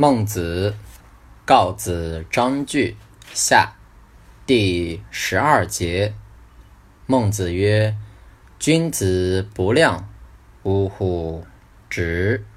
孟子，告子章句下第12节。孟子曰：君子不量，呜呼！直。